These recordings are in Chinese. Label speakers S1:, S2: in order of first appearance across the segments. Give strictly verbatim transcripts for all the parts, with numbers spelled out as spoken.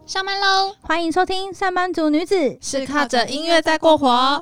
S1: 上班喽！
S2: 欢迎收听上班族女子
S1: 是靠着音乐在过活。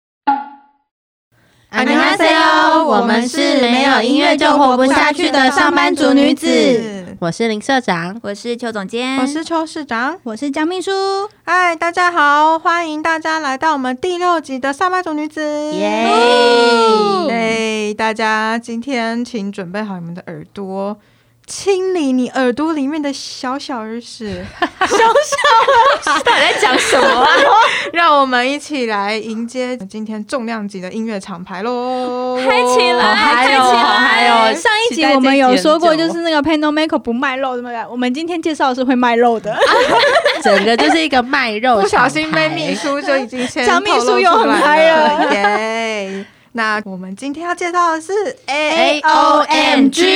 S3: 안녕하세요，我们是没有音乐就活不下去的上班族女子。
S4: 我是林社长，
S1: 我是邱总监，
S3: 我是邱市长，
S2: 我是江秘书。
S3: 嗨，大家好，欢迎大家来到我们第六集的上班族女子。
S4: 耶！
S3: 哎，大家今天请准备好你们的耳朵，清理你耳朵里面的小小耳屎。小小
S1: 耳屎到底在讲什么啊？
S3: 让我们一起来迎接今天重量级的音乐厂牌咯！
S1: 嗨起来，
S4: 嗨起来，嗨哦！
S2: 上一集我们有说过，就是那个 Panameco 不卖肉，对不对？我们今天介绍的是会卖肉的，
S4: 整个就是一个卖肉。
S3: 不小心被秘书就已经先
S2: 江秘书又很嗨了，
S3: 耶！那我们今天要介绍的是
S4: A O M G。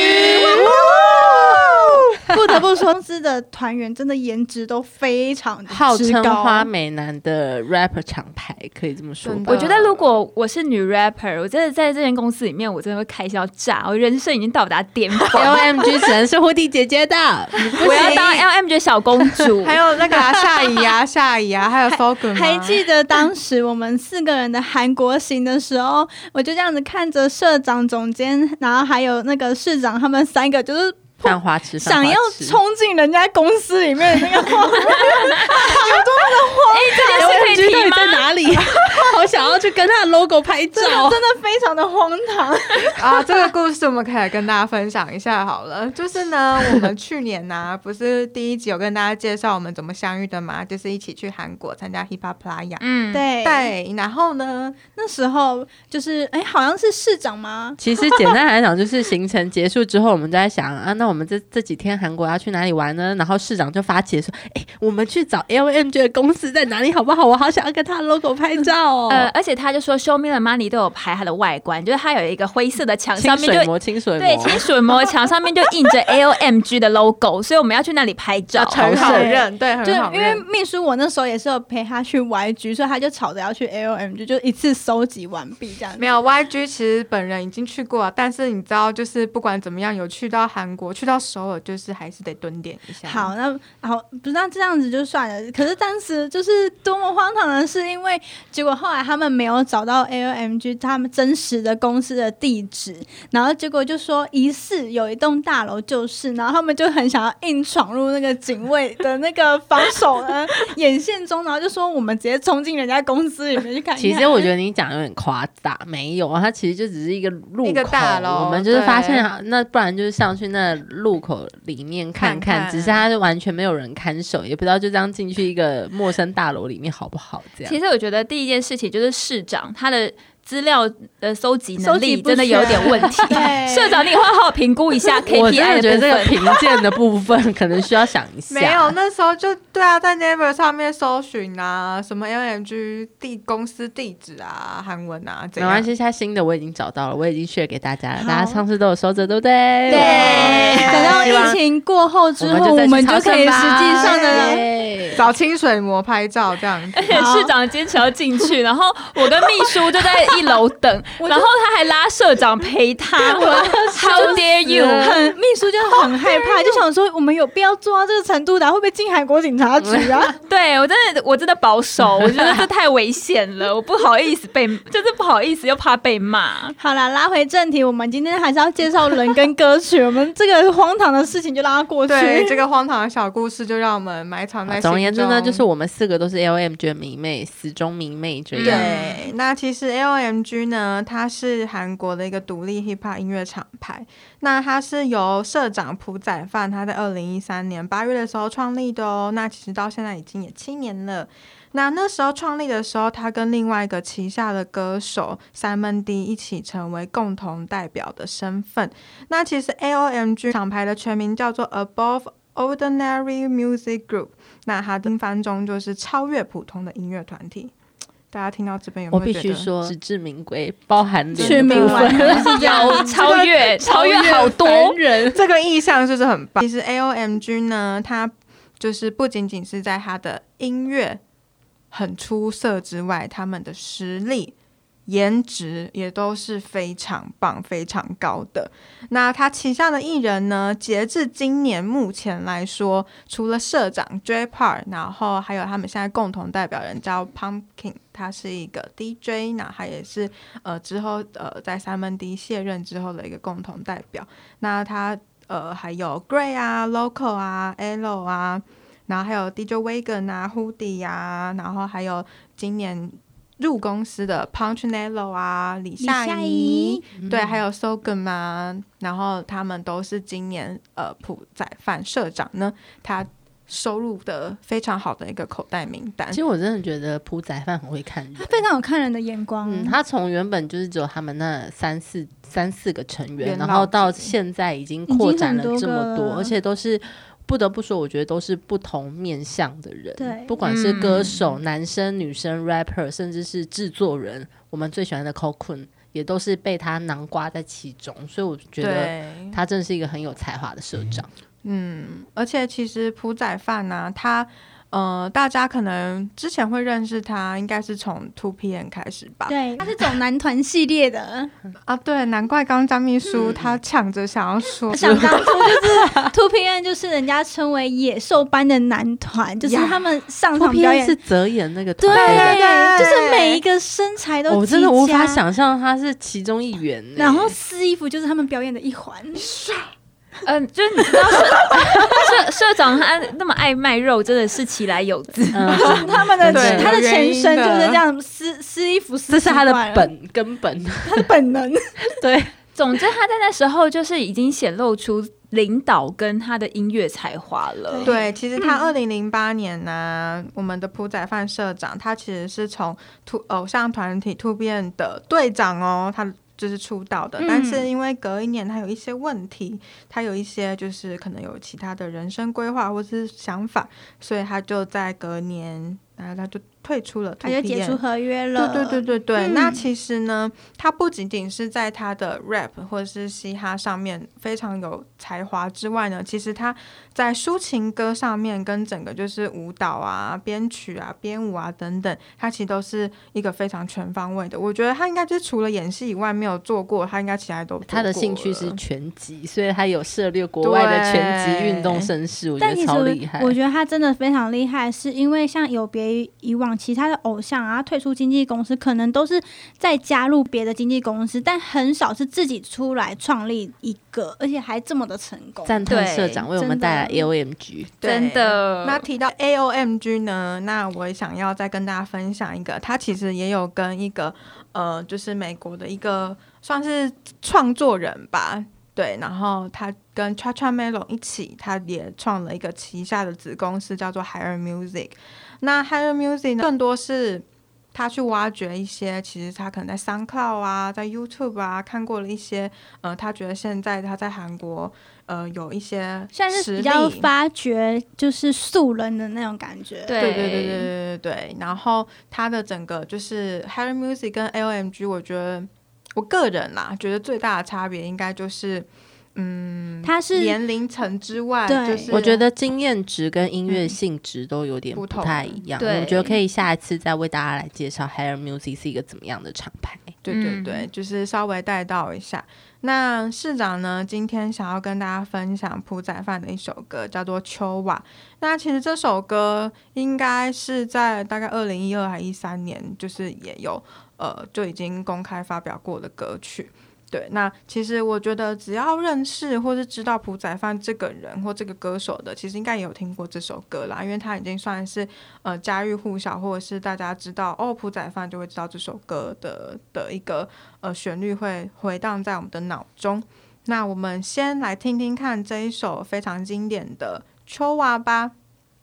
S2: 不得不说，公司的团员真的颜值都非常的
S4: 号称花美男的 rapper 厂牌，可以这么说吧。
S1: 我觉得如果我是女 rapper， 我真的在这间公司里面，我真的会开销炸，我人生已经到达巅峰。
S4: L M G 只能是胡迪姐姐的，
S1: 我要当 L M G 小公主。
S3: 还有那个啊，夏怡啊，夏怡啊，还有 Fogun。
S2: 还记得当时我们四个人的韩国行的时候，我就这样子看着社长、总监，然后还有那个市长，他们三个就是。
S4: 犯花痴，
S2: 想要冲进人家公司里面的那个荒有多么的荒
S1: 唐！这件事可以提吗？
S4: 在哪里？好想要去跟他的 logo 拍照，
S2: 真的真的非常的荒唐
S3: 啊！这个故事我们可以来跟大家分享一下好了。就是呢，我们去年呢、啊，不是第一集有跟大家介绍我们怎么相遇的嘛？就是一起去韩国参加 Hip Hop Playa。
S2: 嗯，对
S3: 对。然后呢，
S2: 那时候就是哎，好像是市长吗？
S4: 其实简单来讲，就是行程结束之后，我们就在想啊，那我们这这几天韩国要去哪里玩呢？然后市长就发起说，哎，我们去找 L M G 的公司在哪里好不好？我好想要跟他的 logo 拍照哦。
S1: 呃，而且他就说 Show Me the Money 都有拍它的外观，就是它有一个灰色的墙上面就
S4: 清水膜，清水膜，
S1: 对，清水膜墙上面就印着 L M G 的 logo， 所以我们要去那里拍照，
S3: 很好认，对，很好认。
S2: 就因为秘书我那时候也是有陪他去 Y G， 所以他就吵着要去 L M G， 就一次收集完毕这样子。
S3: 没有 Y G， 其实本人已经去过了，但是你知道，就是不管怎么样，有去到韩国，去到首尔，就是还是得蹲点一下。
S2: 好，那好，不是那这样子就算了。可是当时就是多么荒唐的是，因为结果后来他们没有找到 L M G 他们真实的公司的地址，然后结果就说疑似有一栋大楼就是，然后他们就很想要硬闯入那个警卫的那个防守呢眼线中，然后就说我们直接冲进人家公司里面去看看。
S4: 其实我觉得你讲有点夸大，没有啊，它其实就只是一个路口，
S3: 一个大楼，
S4: 我们就是发现那不然就是上去那路口里面看看，看看只是它完全没有人看守，也不知道就这样进去一个陌生大楼里面好不好这样。
S1: 其实我觉得第一件事情就是市长他的资料的搜集能力真的有点问题。社长，你也会好好评估一下 K P I 的部分。
S4: 我真的觉得这个评鉴的部分可能需要想一下。
S3: 没有，那时候就对啊，在 Naver 上面搜寻啊，什么 L M G 地公司地址啊，韩文啊，没
S4: 关系，现新的我已经找到了，我已经 share 给大家了，大家上次都有收着，对不对？
S2: 对。等到疫情过后之后，我们就可以实际上的
S3: 找清水膜拍照这样子。
S1: 而且市长坚持要进去，然后我跟秘书就在一楼等，然后他还拉社长陪他。How dare you！
S2: 很秘书就很害怕，就想说我们有必要做到这个程度的、啊，会不会进韩国警察局啊？
S1: 对我真的我真的保守，我觉得这太危险了，我不好意思被，就是不好意思又怕被骂。
S2: 好啦，拉回正题，我们今天还是要介绍人跟歌曲。我们这个荒唐的事情就让它过去。
S3: 对，这个荒唐的小故事就让我们埋藏在心中。
S4: 总而言之呢，就是我们四个都是 L M G 的迷妹，死忠迷妹这样。
S3: 对，那其实 L M G 呢，它是韩国的一个独立 hip hop 音乐厂牌。那它是由社长朴宰范他在二零一三年八月的时候创立的哦。那其实到现在已经也七年了。那那时候创立的时候，他跟另外一个旗下的歌手 Simon D 一起成为共同代表的身份。那其实 L M G 厂牌的全名叫做 Above Ordinary Music Group， 那它英翻中就是超越普通的音乐团体。大家听到这边有没有觉得？
S4: 我必须说，实至名归，包含
S2: 全民文
S1: 是这样，超越超越好多
S3: 人，这个意象就是很棒。其实 L M G 呢，它就是不仅仅是在它的音乐很出色之外，他们的实力颜值也都是非常棒非常高的。那他旗下的艺人呢，截至今年目前来说，除了社长 Jay Park， 然后还有他们现在共同代表人叫 Pumpkin， 他是一个 D J， 那他也是呃之后呃在三门 D 卸任之后的一个共同代表。那他呃还有 Gray 啊 Local 啊 Elo 啊，然后还有 D J Wagon 啊 Hoodie 啊，然后还有今年入公司的 Punchinello 啊李夏怡，对，还有 Sogum 啊，然后他们都是今年呃朴宰范社长呢他收入的非常好的一个口袋名单。
S4: 其实我真的觉得朴宰范很会看人，
S2: 他非常有看人的眼光。
S4: 嗯，他从原本就是只有他们那三四三四个成员，然后到现在已经扩展了这么多，而且都是不得不说，我觉得都是不同面向的人，
S2: 对，
S4: 不管是歌手、嗯、男生、女生、rapper， 甚至是制作人，我们最喜欢的 Cocoon 也都是被他囊括在其中，所以我觉得他真的是一个很有才华的社长。
S3: 嗯，而且其实朴宰范呢，他呃，大家可能之前会认识他，应该是从 two P M 开始吧。
S2: 对，他是走男团系列的
S3: 啊，对，难怪刚刚张秘书他抢着想要说，
S2: 想当初就是 two P M 就是人家称为野兽般的男团，就是他们上场表演
S4: 是泽演那个团，
S2: 对对对，就是每一个身材都极佳，
S4: 我真的无法想象他是其中一员，
S2: 然后撕衣服就是他们表演的一环。
S1: 嗯、呃，就是你知道社社长他那么爱卖肉，真的是其来有自。
S2: 嗯、他们的他的前身就是这样撕撕衣服撕，
S4: 这是他的本根本，
S2: 他的本能。
S1: 对，总之他在那时候就是已经显露出领导跟他的音乐才华了。
S3: 对，其实他二零零八年呢、啊嗯，我们的朴宰范社长，他其实是从偶像团体 two P M 的队长哦，他。就是出道的，但是因为隔一年他有一些问题、嗯、他有一些就是可能有其他的人生规划或是想法，所以他就在隔年然后他就退出了 two P M，
S2: 他就解除合约了。
S3: 对对对对对、嗯、那其实呢他不仅仅是在他的 rap 或者是嘻哈上面非常有才华之外呢，其实他在抒情歌上面跟整个就是舞蹈啊编曲啊编舞啊等等，他其实都是一个非常全方位的。我觉得他应该就是除了演戏以外没有做过，他应该其他都做过了。
S4: 他的兴趣是拳击，所以他有涉猎国外的拳击运动盛事，我觉得超厉害。
S2: 我觉得他真的非常厉害，是因为像有别于以往其他的偶像啊退出经纪公司，可能都是在加入别的经纪公司，但很少是自己出来创立一个，而且还这么的成功。
S4: 赞叹社长为我们带来 A O M G，
S1: 真的。
S3: 那提到 A O M G 呢，那我也想要再跟大家分享一个，他其实也有跟一个呃，就是美国的一个算是创作人吧。对，然后他跟 Cha Cha Melon 一起，他也创了一个旗下的子公司，叫做 Higher Music。那 Higher Music 呢，更多是他去挖掘一些，其实他可能在 SoundCloud 啊，在 YouTube 啊看过了一些，呃，他觉得现在他在韩国，呃，有一些
S2: 现在是比较发掘就是素人的那种感觉。
S3: 对对对对对对对。然后他的整个就是 Higher Music 跟 A O M G， 我觉得。我个人啦，觉得最大的差别应该就是，嗯，
S2: 它是
S3: 年龄层之外，就是
S4: 我觉得经验值跟音乐性质都有点不太一样。嗯、我觉得可以下一次再为大家来介绍 Higher Music 是一个怎么样的厂牌。
S3: 对对对，嗯、就是稍微带到一下。那市长呢，今天想要跟大家分享朴宰范的一首歌，叫做《秋瓦》。那其实这首歌应该是在大概二零一二还一三年，就是也有。呃，就已经公开发表过的歌曲。对，那其实我觉得只要认识或是知道朴宰范这个人或这个歌手的，其实应该也有听过这首歌啦，因为他已经算是呃家喻户晓，或者是大家知道哦朴宰范就会知道这首歌的的一个呃旋律会回荡在我们的脑中。那我们先来听听看这一首非常经典的《秋娃》吧。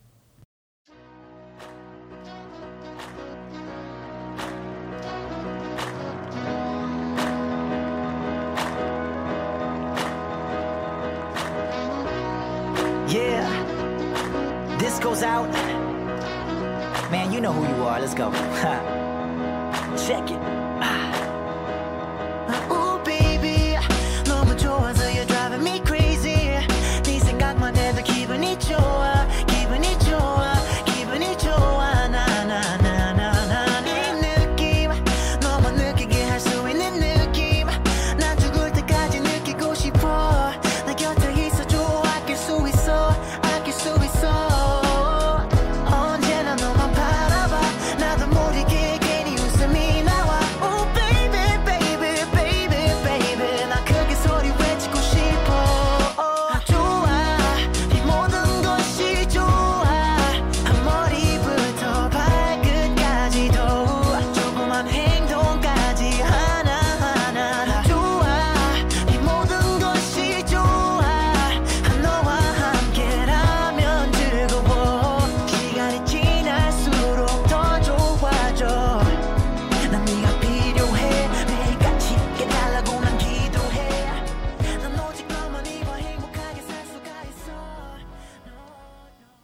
S5: Yeah, this goes out. Man, you know who you are. Let's go. Check it. Oh, baby, 너무 좋아서 you're driving me crazy. 네 생각만 해도 기분이 좋아, 기분이 좋아, 기분이 좋아. 나, 나, 나, 나, 나. 네 느낌 너무 느끼게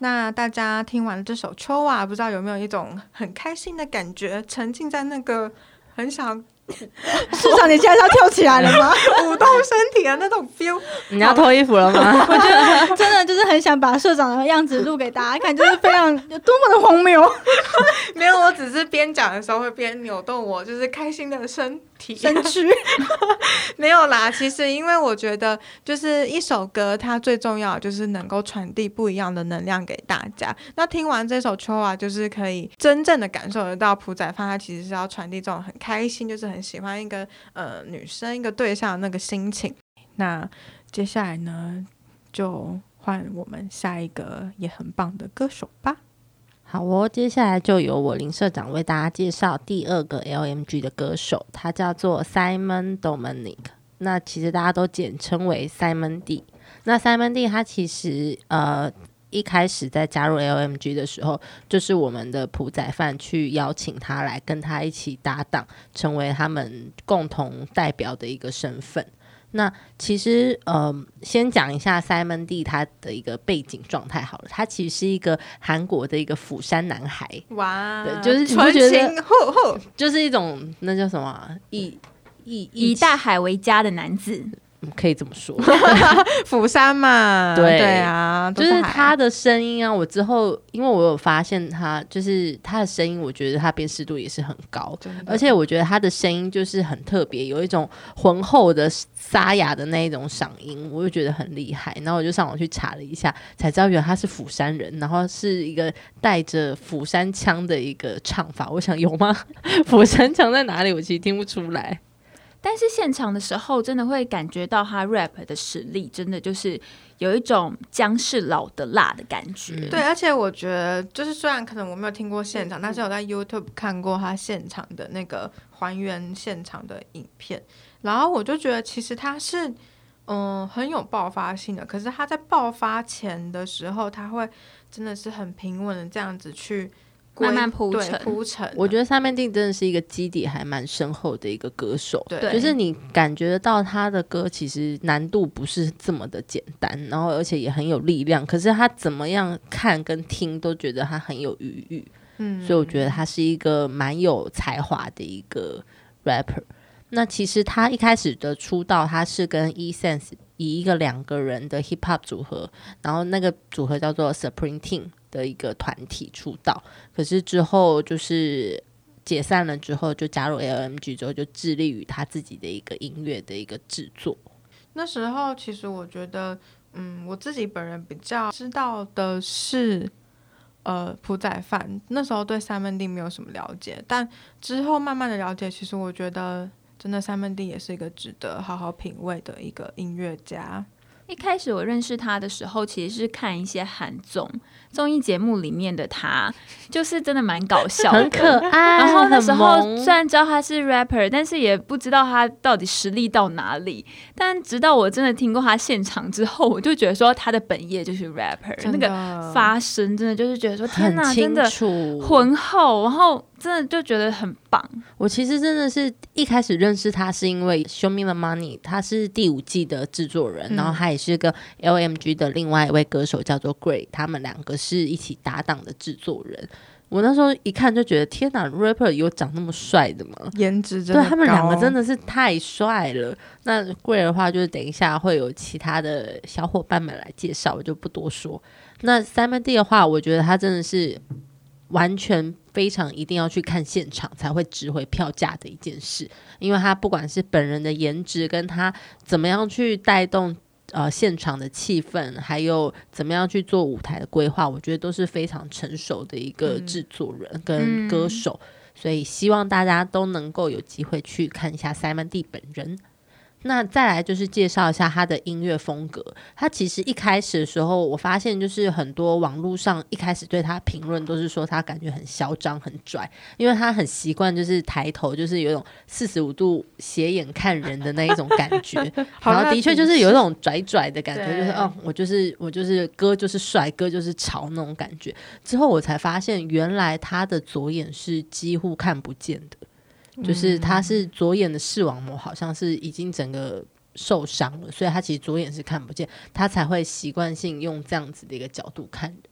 S3: 那大家听完这首《秋啊》，不知道有没有一种很开心的感觉，沉浸在那个很想
S2: 市长，你现在是要跳起来了吗？
S3: 舞动身体的那种 feel。
S4: 你要脱衣服了吗？
S2: 我觉得真的就是很想把社长的样子录给大家看，就是非常有多么的荒谬。
S3: 没有，我只是边讲的时候会边扭动我就是开心的身体
S2: 身躯。
S3: 没有啦，其实因为我觉得就是一首歌它最重要的就是能够传递不一样的能量给大家。那听完这首《秋啊》，就是可以真正的感受得到朴宰范他其实是要传递这种很开心，就是很喜欢一个呃女生一个对象的那个心情。那接下来呢，就换我们下一个也很棒的歌手吧。
S4: 好哦，接下来就由我林社长为大家介绍第二个 L M G 的歌手，他叫做 Simon Dominic， 那其实大家都简称为 Simon D。 那 Simon D 他其实呃一开始在加入 L M G 的时候，就是我们的朴宰范去邀请他来跟他一起搭档，成为他们共同代表的一个身份。那其实呃，先讲一下 Simon D 他的一个背景状态好了，他其实是一个韩国的一个釜山男孩。
S3: 哇，
S4: 对，就是
S3: 纯情呼呼，
S4: 就是一种那叫什么、啊、以以
S1: 以大海为家的男子，
S4: 可以这么说。
S3: 釜山嘛，
S4: 对
S3: 对啊，
S4: 就是他的声音啊，我之后因为我有发现他，就是他的声音，我觉得他辨识度也是很高，而且我觉得他的声音就是很特别，有一种浑厚的沙哑的那一种嗓音，我就觉得很厉害。然后我就上网去查了一下，才知道原来他是釜山人，然后是一个带着釜山腔的一个唱法。我想有吗？釜山腔在哪里？我其实听不出来。
S1: 但是现场的时候真的会感觉到他 rap 的实力，真的就是有一种姜是老的辣的感觉、嗯、
S3: 对，而且我觉得就是虽然可能我没有听过现场、嗯、但是我在 YouTube 看过他现场的那个还原现场的影片，然后我就觉得其实他是嗯很有爆发性的，可是他在爆发前的时候他会真的是很平稳的这样子去
S1: 慢慢铺陈
S3: 铺陈。
S4: 我觉得三面定真的是一个基底还蛮深厚的一个歌手，
S3: 对，
S4: 就是你感觉得到他的歌其实难度不是这么的简单，然后而且也很有力量，可是他怎么样看跟听都觉得他很有余裕，嗯，所以我觉得他是一个蛮有才华的一个 rapper。 那其实他一开始的出道他是跟 E-Sense 以一个两个人的 hip hop 组合，然后那个组合叫做 Supreme Team的一个团体出道，可是之后就是解散了之后就加入 L M G 之后就致力于他自己的一个音乐的一个制作。
S3: 那时候其实我觉得嗯，我自己本人比较知道的是呃，朴宰范，那时候对 Simon D 没有什么了解，但之后慢慢的了解，其实我觉得真的 Simon D 也是一个值得好好品味的一个音乐家。
S1: 一开始我认识他的时候其实是看一些韩综综艺节目里面的他，就是真的蛮搞笑的，
S4: 很可爱。
S1: 然后那时候虽然知道他是 rapper， 但是也不知道他到底实力到哪里，但直到我真的听过他现场之后，我就觉得说他的本业就是 rapper， 那个发声真的就是觉得说天哪，真的浑厚，然后真的就觉得很棒。
S4: 我其实真的是一开始认识他是因为 Show Me the Money， 他是第五季的制作人、嗯、然后他也是跟 L M G 的另外一位歌手叫做 Gray， 他们两个是一起搭档的制作人。我那时候一看就觉得天哪 rapper 有长那么帅的吗？
S3: 颜值真的高，
S4: 对，他们两个真的是太帅了。那 Gray 的话就是等一下会有其他的小伙伴们来介绍，我就不多说。那 Simon D 的话我觉得他真的是完全非常一定要去看现场才会值回票价的一件事，因为他不管是本人的颜值跟他怎么样去带动呃现场的气氛，还有怎么样去做舞台的规划，我觉得都是非常成熟的一个制作人跟歌手、嗯、所以希望大家都能够有机会去看一下 Simon D 本人。那再来就是介绍一下他的音乐风格。他其实一开始的时候我发现就是很多网络上一开始对他评论都是说他感觉很嚣张很拽，因为他很习惯就是抬头就是有一种四十五度斜眼看人的那一种感觉然后的确就是有一种拽拽的感觉，就是哦，我就是我就是歌就是帅，歌就是潮那种感觉。之后我才发现原来他的左眼是几乎看不见的，就是他是左眼的视网膜好像是已经整个受伤了，所以他其实左眼是看不见，他才会习惯性用这样子的一个角度看人。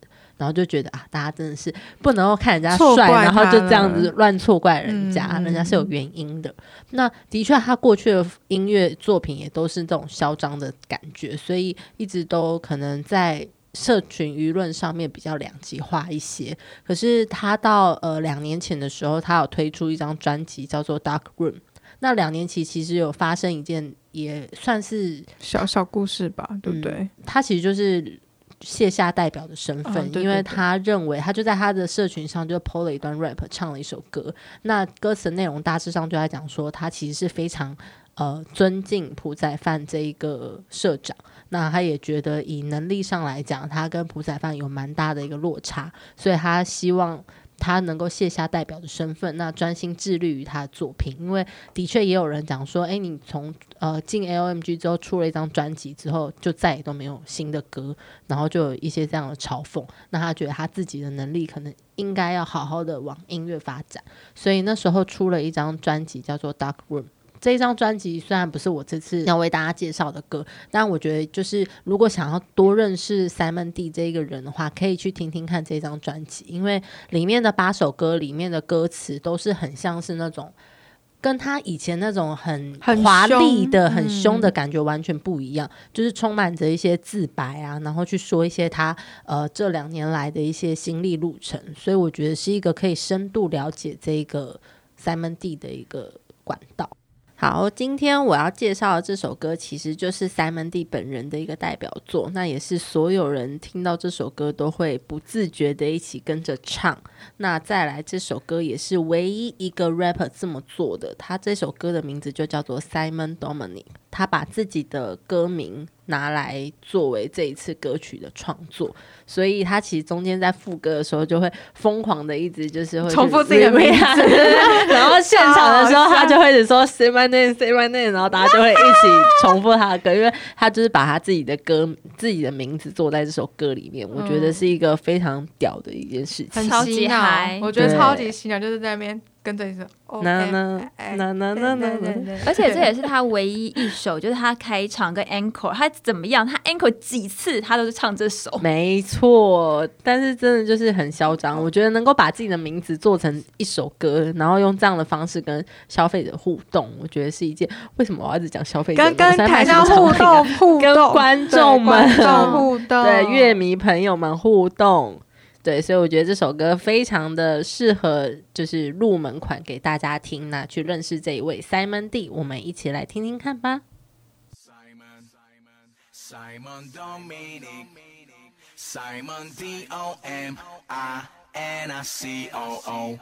S4: 然后就觉得啊，大家真的是不能够看人家帅，然后就这样子乱错怪人家、嗯、人家是有原因的。那的确他过去的音乐作品也都是这种嚣张的感觉，所以一直都可能在社群舆论上面比较两极化一些。可是他到呃两年前的时候，他有推出一张专辑叫做 Dark Room。那两年期其实有发生一件也算是
S3: 小小故事吧，对不对、嗯、
S4: 他其实就是卸下代表的身份、哦、对对对，因为他认为他就在他的社群上就 po 了一段 rap 唱了一首歌，那歌词内容大致上就在讲说他其实是非常呃尊敬朴宰范这一个社长，那他也觉得以能力上来讲他跟朴宰范有蛮大的一个落差，所以他希望他能够卸下代表的身份，那专心致力于他的作品。因为的确也有人讲说，哎，你从呃进 L M G 之后出了一张专辑之后，就再也都没有新的歌，然后就有一些这样的嘲讽。那他觉得他自己的能力可能应该要好好的往音乐发展，所以那时候出了一张专辑叫做 Dark Room。这一张专辑虽然不是我这次要为大家介绍的歌，但我觉得就是如果想要多认识 Simon D 这一个人的话，可以去听听看这张专辑，因为里面的八首歌里面的歌词都是很像是那种跟他以前那种很华丽的很凶的感觉完全不一样、嗯、就是充满着一些自白啊，然后去说一些他呃这两年来的一些心历路程，所以我觉得是一个可以深度了解这个 Simon D 的一个管道。好，今天我要介绍的这首歌其实就是 Simon D 本人的一个代表作，那也是所有人听到这首歌都会不自觉的一起跟着唱。那再来，这首歌也是唯一一个 rapper 这么做的，他这首歌的名字就叫做 Simon Dominic， 他把自己的歌名拿来作为这一次歌曲的创作，所以他其实中间在副歌的时候就会疯狂的一直就是会
S3: 重复自己的名字
S4: 然后现场的时候他就会一直说 say my name say my name， 然后大家就会一起重复他的歌，因为他就是把他自己的歌自己的名字做在这首歌里面、嗯、我觉得是一个非常屌的一件事情，
S3: 很洗脑，我觉得超级洗脑，就是在那边跟着一首
S4: 那那那那那那，
S1: 而且这也是他唯一一首，就是他开场跟 encore， 他怎么样，他 encore 几次他都是唱这首，
S4: 没错。但是真的就是很嚣张，我觉得能够把自己的名字做成一首歌，然后用这样的方式跟消费者互动，我觉得是一件，为什么我要一直讲消费者，
S3: 跟跟台上互动互动，
S4: 跟观众们
S3: 互动，
S4: 对乐迷朋友们互动。对，所以我觉得这首歌非常的适合就是入门款给大家听，那去认识这一位 Simon D， 我们一起来听听看吧。
S6: Simon, Simon Dominic Simon D O M I N I C O O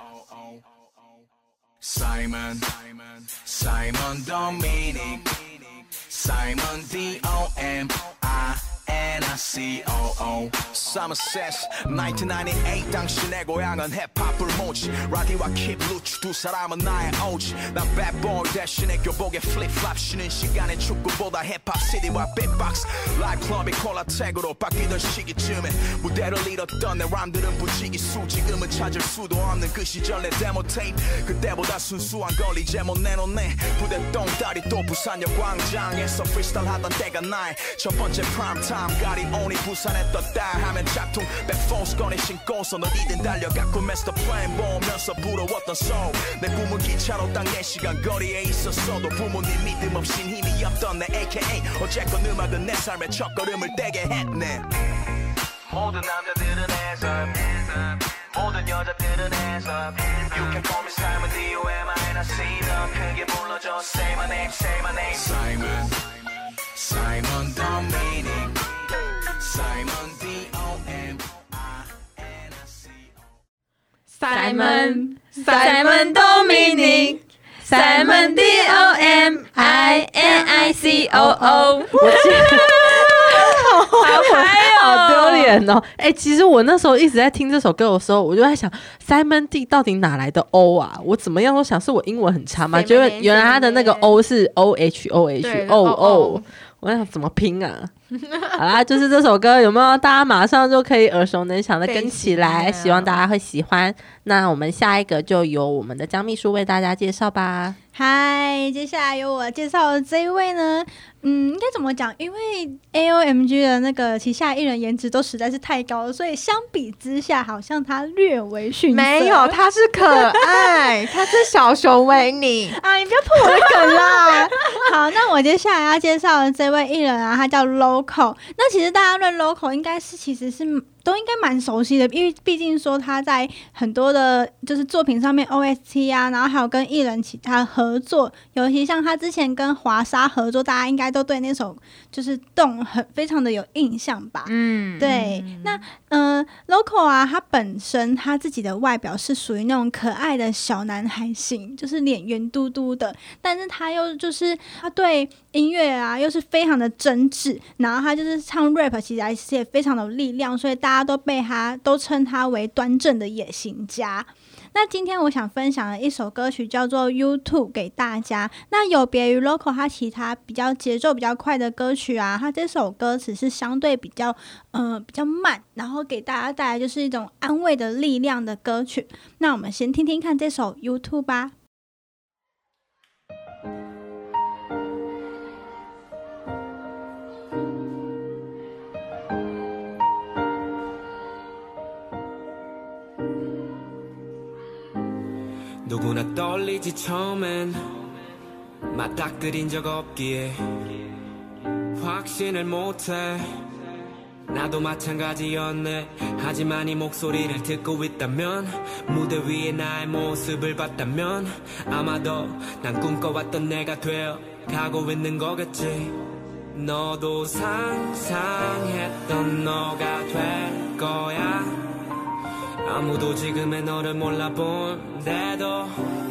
S6: Simon, Simon Dominic Simon D O M I N I C O O Somerset 천구백구십팔 당신의 고향은 힙합을 모지 라디오와 킵 루츠 두 사람은 나의 오지 난 배보이 대신에 교복에 플립플랍 쉬는 시간에 축구보다 힙합 씨디와 빅박스 라이브 클럽이 콜라텍으로 바뀌던 시기쯤에 무대를 잃었던 내 람들은 부지기수 지금은 찾을 수도 없는 그 시절 내 데모 테이프 그때보다 순수한 걸 이제 못 내놓네 부대 똥다리 또 부산역 광장에서 프리스타일 하던 때가 나의 첫 번째 프라임 타임 가리 오니 부산에 떴다 하면 짝퉁 백포스 꺼내 신고서 어디든 달려갔고 마스터 플랜 보면서 부러웠던 소울 내 꿈은 기차로 딱 네 시간 거리에 있었어도 부모님 믿음 없인 힘이 없던 내 에이케이 어쨌건 음악은 내 삶의 첫걸음을 떼게 했네 모든 남자들은 해서 모든 여자들은 해서 You can call me Simon D O M I N I C 더 크게 불러줘 Say my name say my name Simon Simon Dominic Simon D O M I N I C O
S1: Simon Simon Dominic Simon D O M I N I C O O 好嗨哦，
S4: 好丢脸哦！哎、欸，其实我那时候一直在听这首歌的时候，我就在想 ，Simon D 到底哪来的 O 啊？我怎么样都想是我英文很差嘛，觉得原来他的那个 O 是 O H O H O O， 我想怎么拼啊？好啦，就是这首歌有没有大家马上就可以耳熟能详的跟起来？希望大家会喜欢。那我们下一个就由我们的江秘书为大家介绍吧。
S2: 嗨，接下来由我介绍的这一位呢，嗯，应该怎么讲？因为 A O M G 的那个旗下艺人颜值都实在是太高了，所以相比之下，好像他略微逊色。
S3: 没有，他是可爱，他是小熊维尼
S2: 啊！你不要破我的梗啦。好，那我接下来要介绍的这位艺人啊，他叫 Loco。那其实大家对 Loco 应该是其实是都应该蛮熟悉的，因为毕竟说他在很多的就是作品上面 O S T 啊，然后还有跟艺人其他合作，尤其像他之前跟华莎合作，大家应该都对那首就是动很非常的有印象吧。嗯，对。嗯、那呃 Loco 啊，他本身他自己的外表是属于那种可爱的小男孩型，就是脸圆嘟嘟的，但是他又就是他对音乐啊又是非常的真挚，然后他就是唱 rap 其实也非常的有力量，所以大家都被他都称他为端正的野心家。那今天我想分享的一首歌曲叫做 YouTube 给大家。那有别于 Loco 他其他比较节奏比较快的歌曲啊，他这首歌词是相对比较呃比较慢，然后给大家带来就是一种安慰的力量的歌曲。那我们先听听看这首 YouTube 吧。
S7: 누구나 떨리지 처음엔 맞닥뜨린 적 없기에 확신을 못해 나도 마찬가지였네. 하지만 이 목소리를 듣고 있다면 무대 위에 나의 모습을 봤다면 아마도 난 꿈꿔왔던 내가 되어 가고 있는 거겠지. 너도 상상했던 너가 될 거야. 아무도 지금의 너를 몰라본데도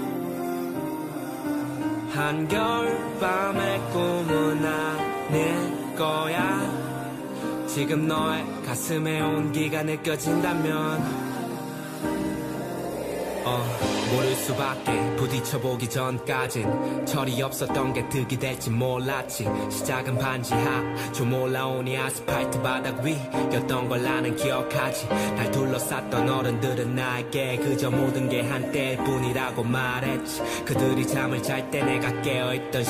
S7: 한겨울밤의 꿈은 아닐 거야. 지금 너의 가슴에 온기가 느껴진다면 어, 모를 수밖에. 부딪혀보기 전까진 철이 없었던 게 득이 될지 몰랐지. 시작은 반지하 좀 올라오니 아스팔트 바닥 위였던 걸 나는 기억하지. 날 둘러쌌던 어른들은 나에게 그저 모든 게 한때일 뿐이라고 말했지. 그들이 잠을 잘 때 내가 깨어있던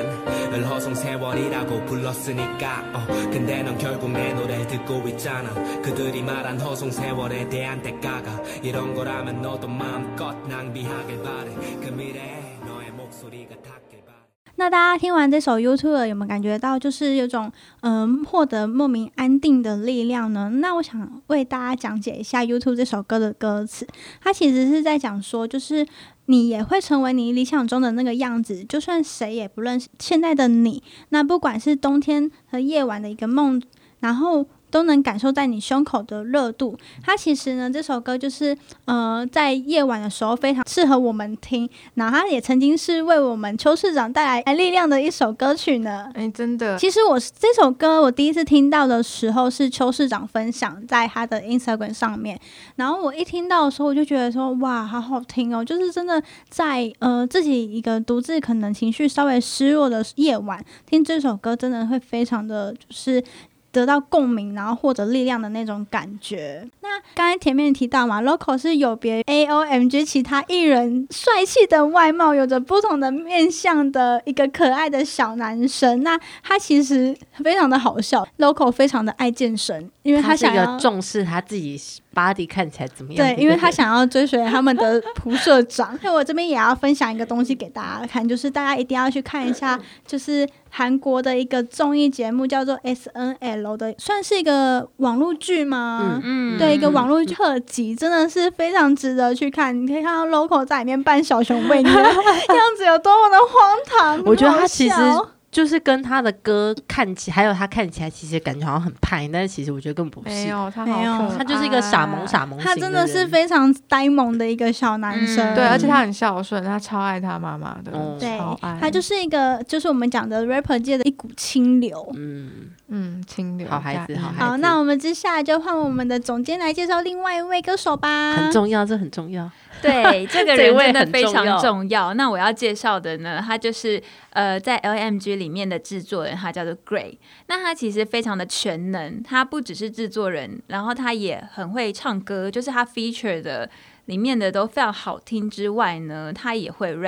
S7: 시간을 허송세월이라고 불렀으니까 어, 근데 넌 결국 내 노래를 듣고 있잖아. 그들이 말한 허송세월에 대한 대가가 이런 거라면 너도 마음껏 낭비하길 바래. 그 미래에 너의 목소리가 닿길 바래.
S2: 那大家听完这首 YouTube 有没有感觉到就是有种嗯获得莫名安定的力量呢？那我想为大家讲解一下 YouTube 这首歌的歌词。它其实是在讲说，就是你也会成为你理想中的那个样子，就算谁也不认识现在的你。那不管是冬天和夜晚的一个梦，然后都能感受在你胸口的热度。它其实呢，这首歌就是呃，在夜晚的时候非常适合我们听，然后它也曾经是为我们邱市长带来力量的一首歌曲呢。
S3: 哎，真的。
S2: 其实我这首歌我第一次听到的时候是邱市长分享在他的 Instagram 上面，然后我一听到的时候我就觉得说哇，好好听哦，就是真的在呃自己一个独自可能情绪稍微失落的夜晚听这首歌，真的会非常的就是得到共鸣，然后获得力量的那种感觉。那刚才前面提到嘛 Loco 是有别 A O M G 其他艺人帅气的外貌，有着不同的面向的一个可爱的小男生。那他其实非常的好笑， Loco 非常的爱健身，因为他想要
S4: 他是一个重视他自己 body 看起来怎么样。
S2: 对，因为他想要追随他们的蒲社长。所以我这边也要分享一个东西给大家看，就是大家一定要去看一下，就是韩国的一个综艺节目叫做 S N L 的，算是一个网络剧吗？嗯嗯，对，一个网络特辑，真的是非常值得去看。你可以看到 Loco 在里面扮小熊维尼的样子有多么的荒唐。
S4: 我觉得他其实就是跟他的歌看起，还有他看起来其实感觉好像很派，但是其实我觉得根本不是。
S3: 没有，他好可爱，
S4: 他就是一个傻萌傻萌型的人。
S2: 他真的是非常呆萌的一个小男生。
S3: 嗯、对，而且他很孝顺，他超爱他妈妈的。嗯、
S2: 对，
S3: 超爱。
S2: 他就是一个，就是我们讲的 rapper 界的一股清流。
S4: 嗯
S3: 嗯，清流。
S4: 好孩子，好孩子。
S2: 好，那我们接下来就换我们的总监来介绍另外一位歌手吧。
S4: 很重要，这很重要。
S1: 对，这个人真的非常重要。那我要介绍的呢，他就是呃，在 L M G 里面的制作人，他叫做 Gray。那他其实非常的全能，他不只是制作人，然后他也很会唱歌，就是他 feature 的里面的都非常好听之外呢，他也会 rap。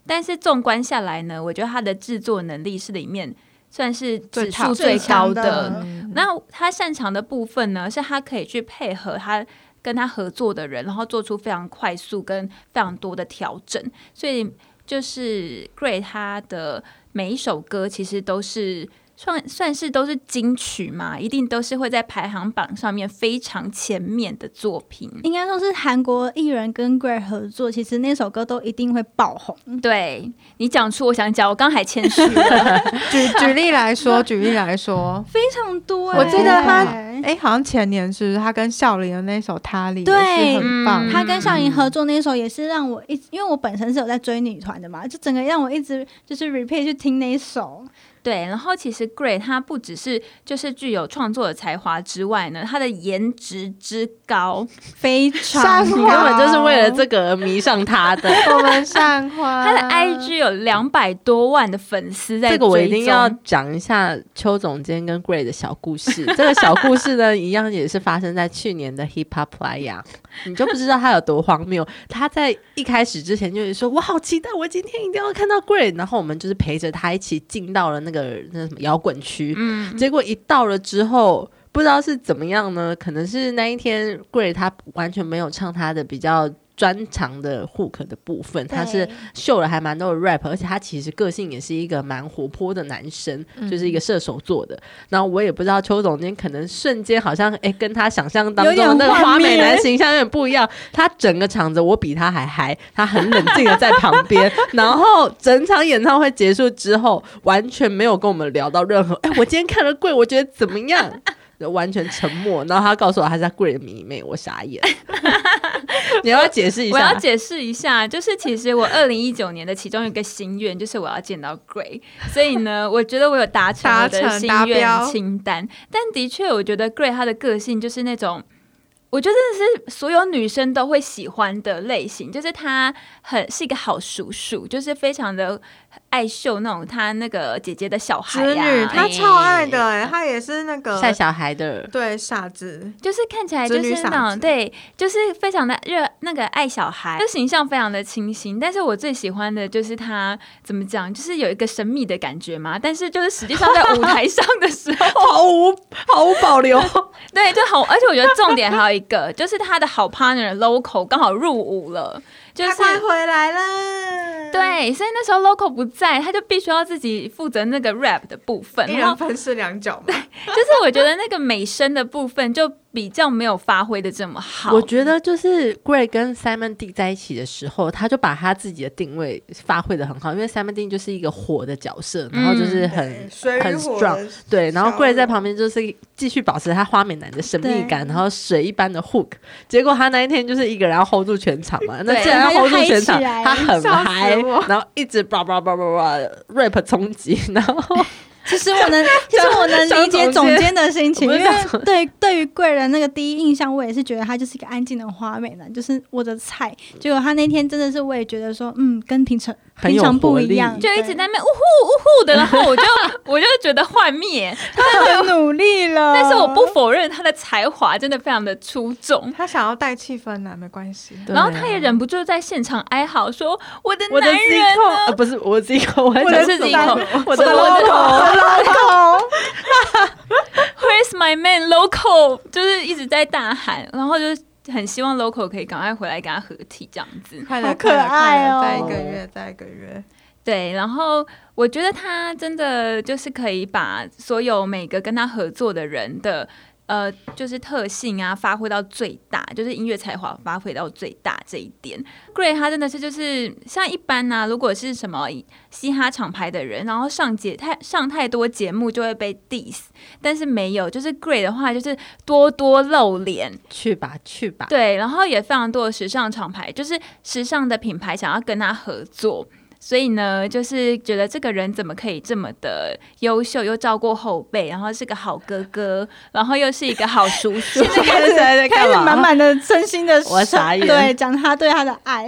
S1: 但是纵观下来呢，我觉得他的制作能力是里面算是指数
S3: 最
S1: 高的。
S2: 的
S1: 那他擅长的部分呢，是他可以去配合他跟他合作的人，然后做出非常快速跟非常多的调整。所以就是 Gray 他的每一首歌其实都是算算是都是金曲嘛，一定都是会在排行榜上面非常前面的作品。
S2: 应该说是韩国艺人跟 Gray 合作，其实那首歌都一定会爆红。
S1: 对，你讲出我想讲，我刚还谦虚了。
S3: 举举例来说，举例来说，
S2: 非常多、欸。
S3: 我记得他，哎、欸，好像前年是不是他跟孝琳的那首《他里》也是很棒。
S2: 他跟孝琳合作那首也是让我一，因为我本身是有在追女团的嘛，就整个让我一直就是 repeat 去听那一首。
S1: 对，然后其实 Gray 他不只是就是具有创作的才华之外呢，他的颜值之高
S2: 非常
S4: 你根本就是为了这个而迷上他的。
S3: 我们上花，
S1: 他的 I G 有两百多万的粉丝在追踪。
S4: 这个我一定要讲一下邱总监跟 Gray 的小故事。这个小故事呢，一样也是发生在去年的 Hip Hop Playa。你就不知道他有多荒谬。他在一开始之前就是说，我好期待，我今天一定要看到 Gray。然后我们就是陪着他一起进到了那个那什么摇滚区，嗯，结果一到了之后，不知道是怎么样呢？可能是那一天 Gray 他完全没有唱他的比较专长的 hook 的部分，他是秀了还蛮多的 rap， 而且他其实个性也是一个蛮活泼的男生，嗯、就是一个射手座的。然后我也不知道邱总监可能瞬间好像哎跟他想象当中的那个花美男形象有点不一样，他整个场子我比他还嗨，他很冷静的在旁边，然后整场演唱会结束之后，完全没有跟我们聊到任何哎我今天看了贵，我觉得怎么样？完全沉默，然后他告诉我他是他 Gray 的迷妹，我傻眼。你要不要解释一下？
S1: 我要解释一下，就是其实我二零一九年的其中一个心愿就是我要见到 Gray， 所以呢，我觉得我有达成我的心愿清单。但的确，我觉得 Gray 他的个性就是那种。我觉得这是所有女生都会喜欢的类型，就是他很是一个好叔叔，就是非常的爱秀那种他那个姐姐的小孩呀、啊，
S3: 他超爱的哎、欸，他也是那个
S4: 晒小孩的，
S3: 对傻子，
S1: 就是看起来就是那种对，就是非常的热那个爱小孩，就形象非常的清新。但是我最喜欢的就是他怎么讲，就是有一个神秘的感觉嘛，但是就是实际上在舞台上的时候
S4: 毫无毫无保留，
S1: 对，就好，而且我觉得重点还有一个就是他的好 partner Loco 刚好入伍了，就是
S3: 他快回来了。
S1: 对，所以那时候 Loco 不在，他就必须要自己负责那个 rap 的部分，
S3: 一人分饰两角嘛。
S1: 对，就是我觉得那个美声的部分就比较没有发挥的这么好。
S4: 我觉得就是 Gray 跟 Simon D 在一起的时候，他就把他自己的定位发挥的很好，因为 Simon D 就是一个火的角色，然后就是很、嗯、很 strong， 对，然后 Gray 在旁边就是继续保持他花美男的神秘感，然后水一般的 hook。结果他那一天就是一个人要 hold 住全场嘛，那既然要 hold 住全场，他很嗨，然后一直叭叭叭叭叭 rap 冲击，然后。
S2: 其实我能，其实我能理解总监的心情，因为对对于贵人那个第一印象，我也是觉得他就是一个安静的花美男，就是我的菜。结果他那天真的是，我也觉得说，嗯，跟平常平常不一样，
S1: 就一直在那边呜呼呜呼的，然后我就我就觉得幻灭，
S2: 他很努力了。
S1: 但是我不否认他的才华真的非常的出众，
S3: 他想要带气氛啊，没关系。
S1: 然后他也忍不住在现场哀嚎说：“我的男人呢？
S4: 呃，不是我自己口，我
S1: 的自己口，
S4: 我的 loco。”
S1: Where's my man Loco？ 就是一直在大喊，然后就是很希望 Loco 可以赶快回来跟他合体这样子。
S3: 快了，好可爱哦！再一个月，再一个月。
S1: 对，然后我觉得他真的就是可以把所有每个跟他合作的人的。呃，就是特性啊，发挥到最大，就是音乐才华发挥到最大这一点。Gray 他真的是就是像一般啊，如果是什么嘻哈厂牌的人，然后上节太上太多节目就会被 diss， 但是没有，就是 Gray 的话就是多多露脸，
S4: 去吧去吧。
S1: 对，然后也非常多的时尚厂牌，就是时尚的品牌想要跟他合作。所以呢，就是觉得这个人怎么可以这么的优秀，又照顾后辈，然后是个好哥哥，然后又是一个好叔叔。
S2: 现在开始开始满满的真心的，
S4: 我傻眼。
S2: 对，讲他对他的爱。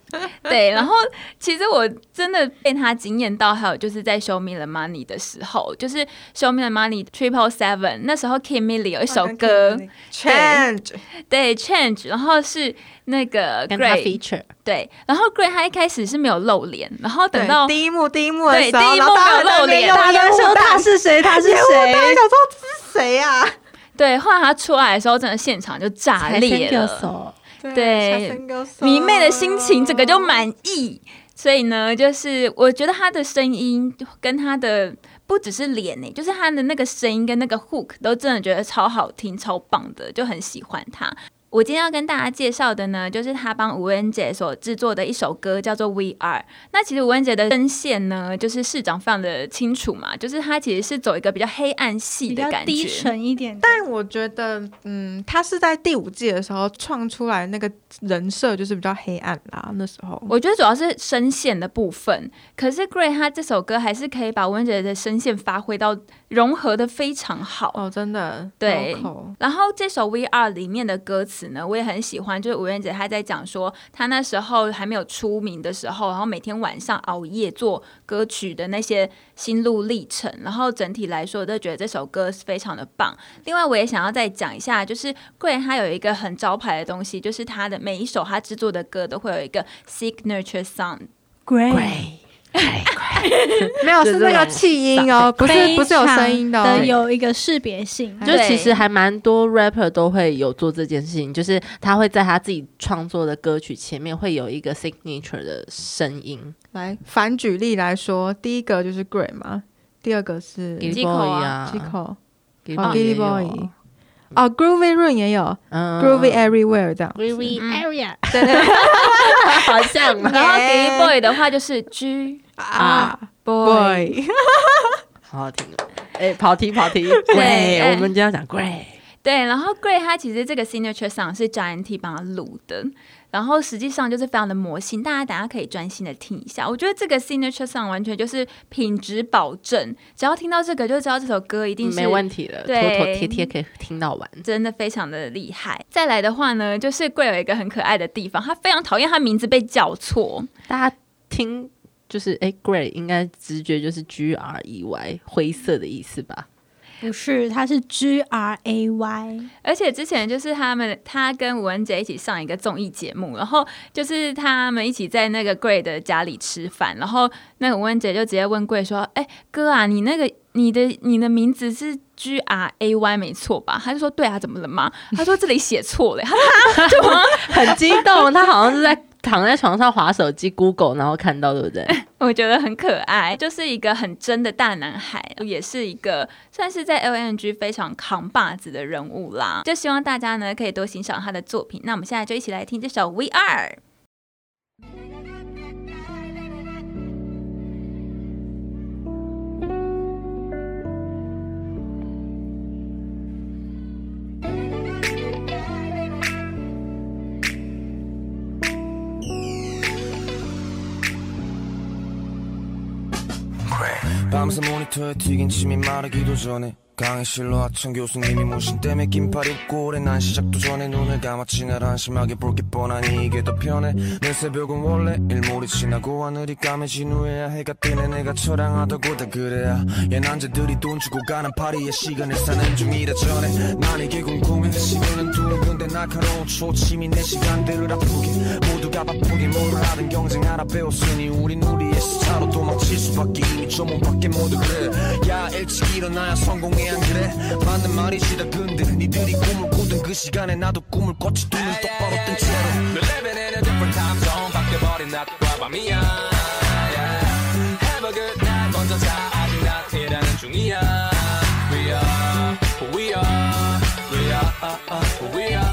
S1: 对，然后其实我真的被他惊艳到，还有就是在 Show Me the Money 的时候，就是 Show Me the Money Triple Seven 那时候 Kim Milli 有一首歌、
S3: 哦、Change，
S1: 对 Change， 然后是那个 Gray
S4: feature，
S1: 对，然后 Gray 他一开始是没有露脸，然后等到
S3: 第一幕第一幕的时候，
S1: 对第一幕没有露脸，
S3: 大家
S4: 说他是谁，他是谁，
S3: 大家想说这是谁呀、啊？
S1: 对，后来他出来的时候，真的现场就炸裂了。对，迷妹的心情整个就满意，所以呢，就是我觉得他的声音跟他的不只是脸欸，就是他的那个声音跟那个 hook 都真的觉得超好听、超棒的，就很喜欢他。我今天要跟大家介绍的呢，就是他帮吴恩杰所制作的一首歌，叫做 We Are。那其实吴恩杰的声线呢，就是市长非常的清楚嘛，就是他其实是走一个比较黑暗系的感觉，
S2: 比较低沉一点。
S3: 但我觉得，嗯，他是在第五季的时候创出来那个人设，就是比较黑暗啦。那时候
S1: 我觉得主要是声线的部分，可是 Gray 他这首歌还是可以把吴恩杰的声线发挥到融合的非常好
S3: 哦，真的
S1: 对。然后这首 We Are 里面的歌词呢，我也很喜欢，就是吴恩杰他在讲说，他那时候还没有出名的时候，然后每天晚上熬夜做歌曲的那些心路历程。然后整体来说，我都觉得这首歌是非常的棒。另外，我也想要再讲一下，就是 Gray 他有一个很招牌的东西，就是他的每一首他制作的歌都会有一个 signature sound。Gray。
S3: 没有，是那个气音哦，不是不是有声音的、哦，
S2: 的有一个识别性。
S4: 就其实还蛮多 rapper 都会有做这件事情，就是他会在他自己创作的歌曲前面会有一个 signature 的声音。
S3: 来反举例来说，第一个就是 Gray 嘛，第二个是
S1: Gilly Boy
S3: 啊 ，Gilly
S4: Boy，Gilly
S3: Boy。哦 ，Groovy Run 也有、嗯、，Groovy Everywhere 这样
S4: ，Groovy Area，、嗯、
S3: 对对对，
S4: 好像。
S1: 然后 Gilly Boy 的话就是 G R Boy，
S4: 好好听哦。哎、欸，跑题跑题，对，我们今天要讲 Gray。
S1: 对，然后 Gray 他其实这个 signature song 是 Giant T 帮他录的，然后实际上就是非常的魔性，大家等一下可以专心的听一下。我觉得这个 signature song 完全就是品质保证，只要听到这个就知道这首歌一定是
S4: 没问题的，
S1: 对，
S4: 妥妥帖帖可以听到完，
S1: 真的非常的厉害。再来的话呢，就是 Gray 有一个很可爱的地方，他非常讨厌他名字被叫错，
S4: 大家听就是哎 Gray 应该直觉就是 G R E Y 灰色的意思吧？
S2: 不是，它是 G R A Y。
S1: 而且之前就是他们他跟吴恩杰一起上一个综艺节目，然后就是他们一起在那个 Gray 的家里吃饭，然后那个吴恩杰就直接问 Gray 说，哎、欸、哥啊，你那个你的你的名字是 G R A Y 没错吧？他就说对啊，怎么了吗？他说这里写错了，他就
S4: 很激动，他好像是在躺在床上滑手机 Google 然后看到，对不对？
S1: 我觉得很可爱，就是一个很真的大男孩，也是一个算是在 L M G 非常扛把子的人物啦。就希望大家呢可以多欣赏他的作品。那我们现在就一起来听这首 We Are。
S6: 밤새 모니터에 튀긴 침이 마르기도 전에 강의실로 하천 교수님이 무신 때문에 긴팔 입고 오래 난 시작도 전에 눈을 감았지 날 한심하게 볼 게 뻔하니 이게 더 편해 내 새벽은 원래 일몰이 지나고 하늘이 까매진 후에야 해가 뜨네 내가 처량하다고 다 그래야 얘 남자들이 돈 주고 가는 파리에 시간을 사는 중이라 전에 난 이게 궁금해 시간은 둥근데 날카로운 초침이 내 시간들을 아프게 모두가 바쁘게 뭘 하든 경쟁하라 배웠으니 우린 우리의 스타로 도망칠 수밖에 이미 저 몸밖에 모두 그래 야 일찍 일어나야 성공해 안 그래 맞는 말이지 다 근데 니들이 꿈을 꾸던 그 시간에 나도 꿈을 꿨지 두 눈 똑바로 뜬 채로 We're living in a different time zone 바뀌어버린 낮과 밤이야 yeah. Have a good night 먼저 자 아직 낮이라는 중이야 We are who we are We are who we are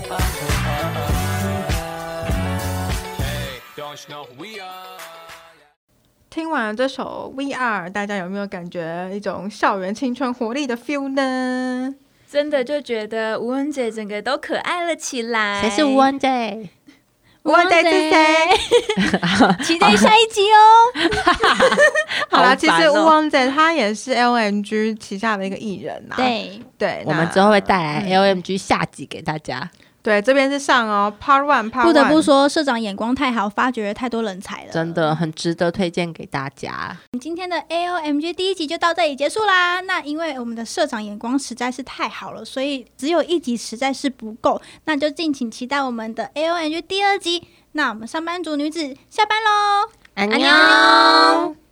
S6: Hey don't you know who we are
S3: 听完了这首 We Are， 大家有没有感觉一种校园青春活力的 feel 呢？
S1: 真的就觉得吴恩杰整个都可爱了起来。
S4: 谁是吴恩杰？
S3: 吴恩杰是谁？
S2: 期待下一集哦。
S3: 好啦，其实吴恩杰他也是 L M G 旗下的一个艺人啊。
S2: 对
S3: 对，
S4: 我们之后会带来 L M G 下集给大家。
S3: 对，这边是上哦 ，Part One， Part One。
S2: 不得不说，社长眼光太好，发掘了太多人才了，
S4: 真的很值得推荐给大家。
S2: 今天的 A O M G 第一集就到这里结束啦。那因为我们的社长眼光实在是太好了，所以只有一集实在是不够，那就敬请期待我们的 A O M G 第二集。那我们上班族女子下班喽，
S4: 安妞。